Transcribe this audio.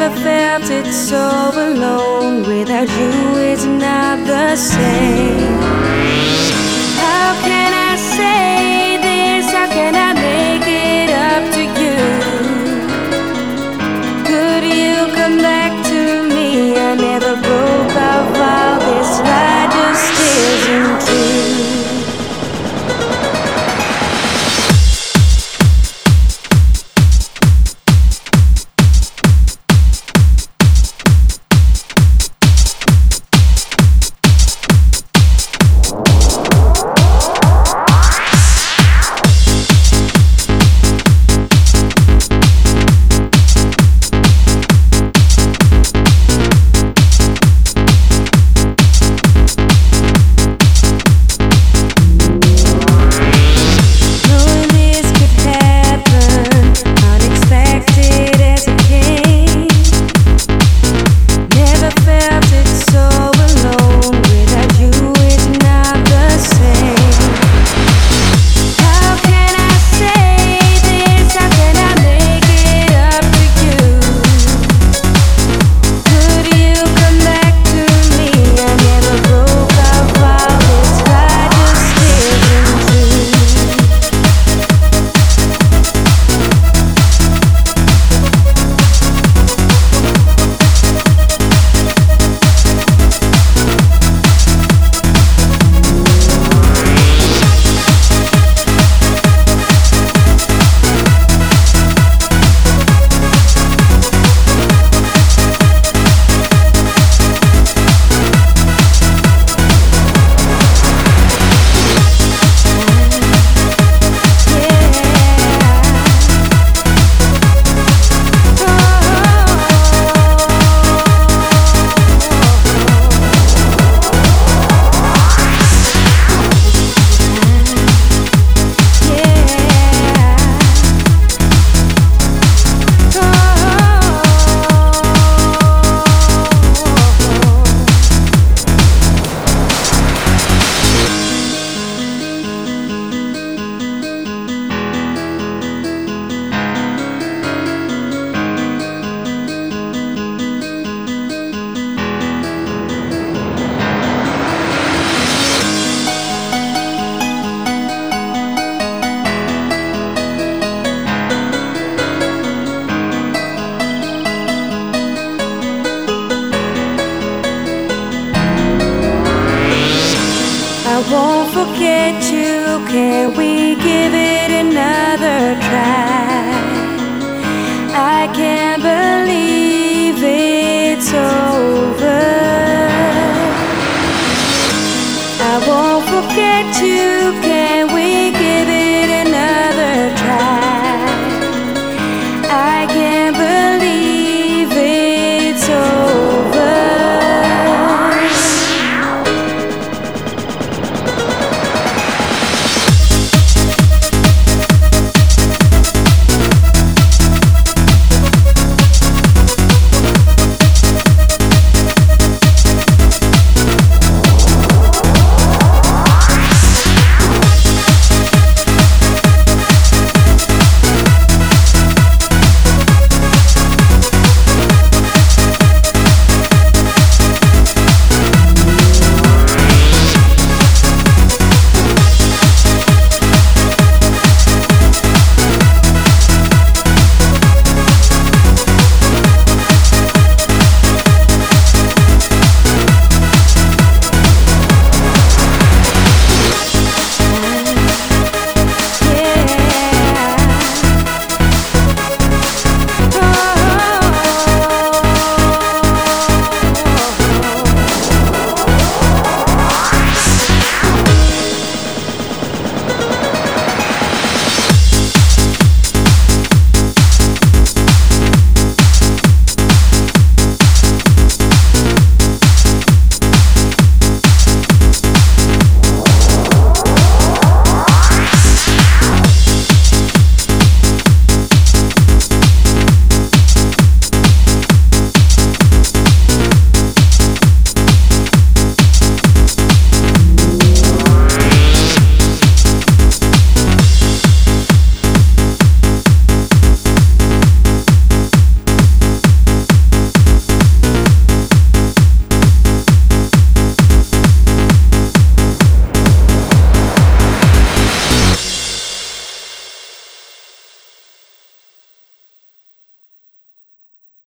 Never felt it so alone. Without you, it's not the same. How can I say this? How can I make it up to you? Could you come back to me? I never broke our vow. This lie just isn't true. I won't forget you. Can we give it another try? I can't believe it's over. I won't forget you.